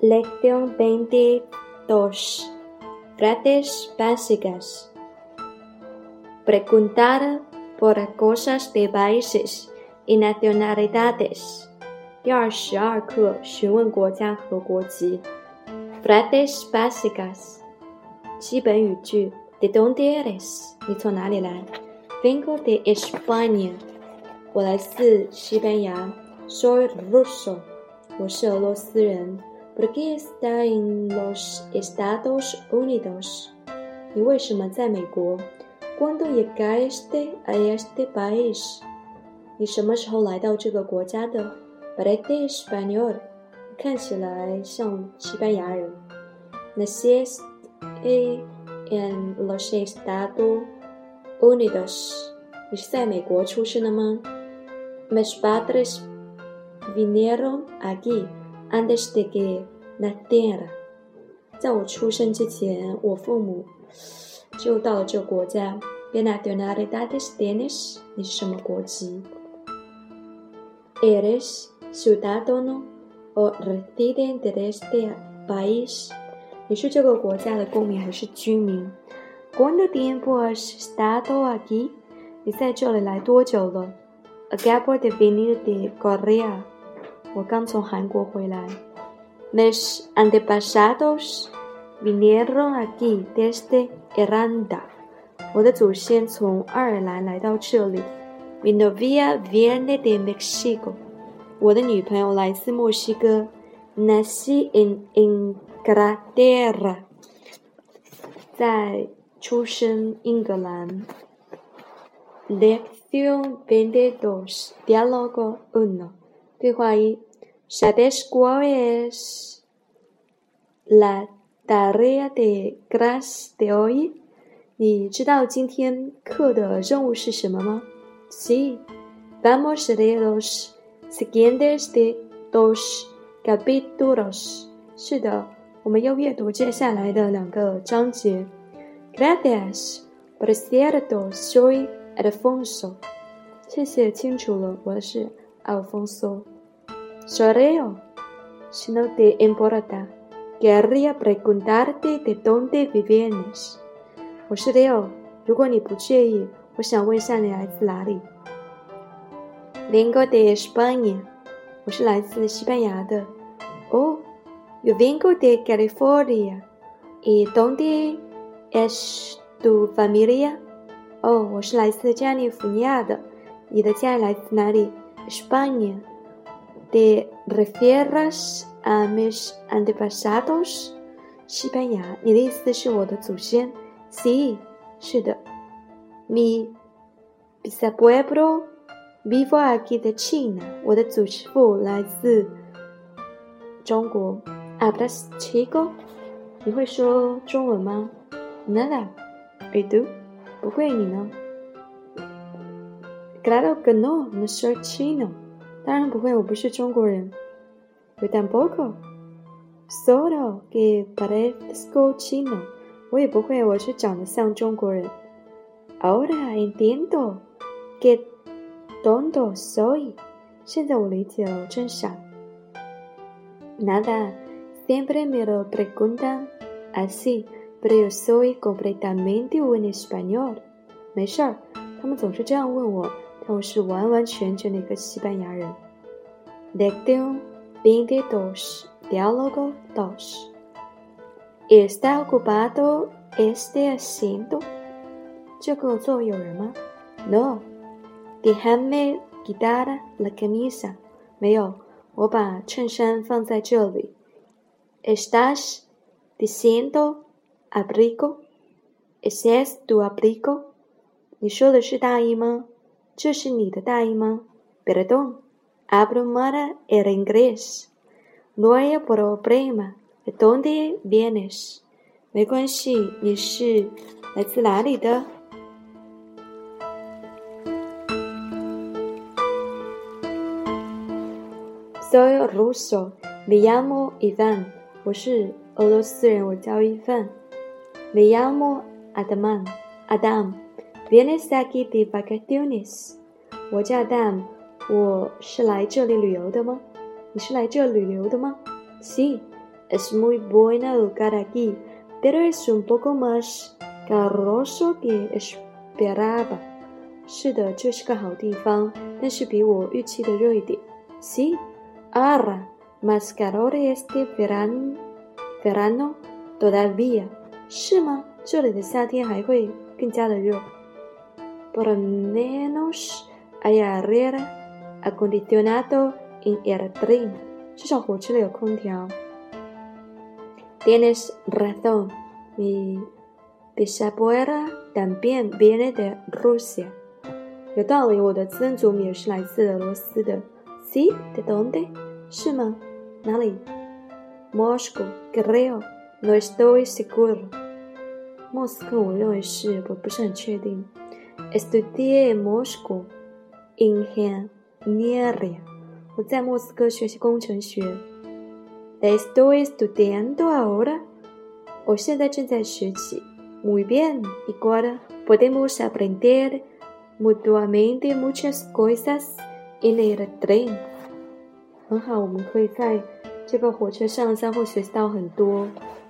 Lección 22. Frases básicas. Preguntar por cosas de países y nacionalidades. 第22课询问国家和国籍。Frases básicas. 基本语句。¿De dónde eres? 你从哪里来？ Vengo de España. 我来自西班牙。Soy ruso. 我是俄罗斯人。¿Por qué está en los Estados Unidos? 你为什么在美国？ ¿Cuándo llegaste a este país? 你什么时候来到这个国家的？ Parece español. 看起来像西班牙人。Naciste en los Estados Unidos. 你是在美国出生的吗？ Mis padres vinieron aquí.Antes de que naciera. 在我出生之前，我父母就到了这个国家。¿Qué nacionalidades tienes? 你是什么国籍？ ¿Eres ciudadano o residente de este país? 你是这个国家的公民还是居民？ ¿Cuánto tiempo has estado aquí? 你在这里来多久了？ Acabo de venir de Corea.我刚从韩国回来。Mis antepasados vinieron aquí desde Irlanda. 我的祖先从爱尔兰来到这里。Mi novia viene de México. 我的女朋友来自墨西哥。Nací en Inglaterra. 在出生英格兰。Lección 22. Diálogo 1. 对话1。¿Sabes cuál es la tarea de clase de hoy? 你知道今天课的任务是什么吗？ Sí. Vamos a leer los siguientes de dos capítulos. 是的，我们要阅读接下来的2个章节。Gracias. Por cierto, soy Alfonso. 谢谢，清楚了，我是 Alfonso.Soy Leo. Si no te importa, querría preguntarte de dónde vienes. 我是 Leo. 如果你不介意，我想问一下你来自哪里。Vengo de España. 我是来自西班牙的。Oh, yo vengo de California. ¿Y dónde es tu familia? 哦，我是来自加利福尼亚的。你的家来自哪里？ España.¿Te refieres a mis antepasados? 西班牙，你的意思是我的祖先？ Sí, 是的。Mi bisabuelo vive aquí de China. 我的祖父来自中国。Hablas chino? 你会说中文吗？ Nada. ¿Y tú? 不会，你呢？ Claro que no, no soy chino.当然不会，我不是中国人。Yo tampoco. Solo que parezco chino. 我也不会，我是长得像中国人。Ahora entiendo que tonto soy. 现在我理解了，我真傻。Nada, siempre me lo preguntan así, pero yo soy completamente un español. 没事儿，他们总是这样问我。但我是完完全全的一个西班牙人。Lección 22. Diálogo 2. ¿Está ocupado este asiento? 这个座位有人吗？ No. Déjame quitar la camisa. 没有，我把衬衫放在这里。¿Estás diciendo abrigo? ¿Ese es tu abrigo? 你说的是大衣吗？这是你的大衣吗？ Perdón, hablo mal el inglés. No hay problema. ¿De dónde vienes? 没关系，你是来自哪里的？ Soy ruso. Me llamo Ivan. 我是俄罗斯人，我叫伊凡。Me llamo Adam.Vienes aquí de vacaciones? 我叫 Adam， 我是来这里旅游的吗？你是来这里旅游的吗？ Sí, Es muy buen lugar aquí, pero es un poco más caluroso que esperaba. 是的，这是个好地方，但是比我预期的热一点。Sí, ahora, más calor este verano todavía. 是吗？这里的夏天还会更加的热。Por lo menos hay aire acondicionado en el tren. 至少火车里有空调。Tienes razón, mi bisabuela también viene de Rusia. 有道理，我的曾祖母也是来自俄罗斯的。Sí, ¿de dónde? 是吗？哪里？ Moscow, creo, no estoy seguro. 莫斯科，我认为是，我不是很确定。Estudié en Moscow ingeniería. 我在莫斯科学习工程学。Estoy estudiando ahora. 我现在正在学习。Muy bien, igual podemos aprender mutuamente muchas cosas en el tren. 很好，我们可以在这个火车上相互学习到很多。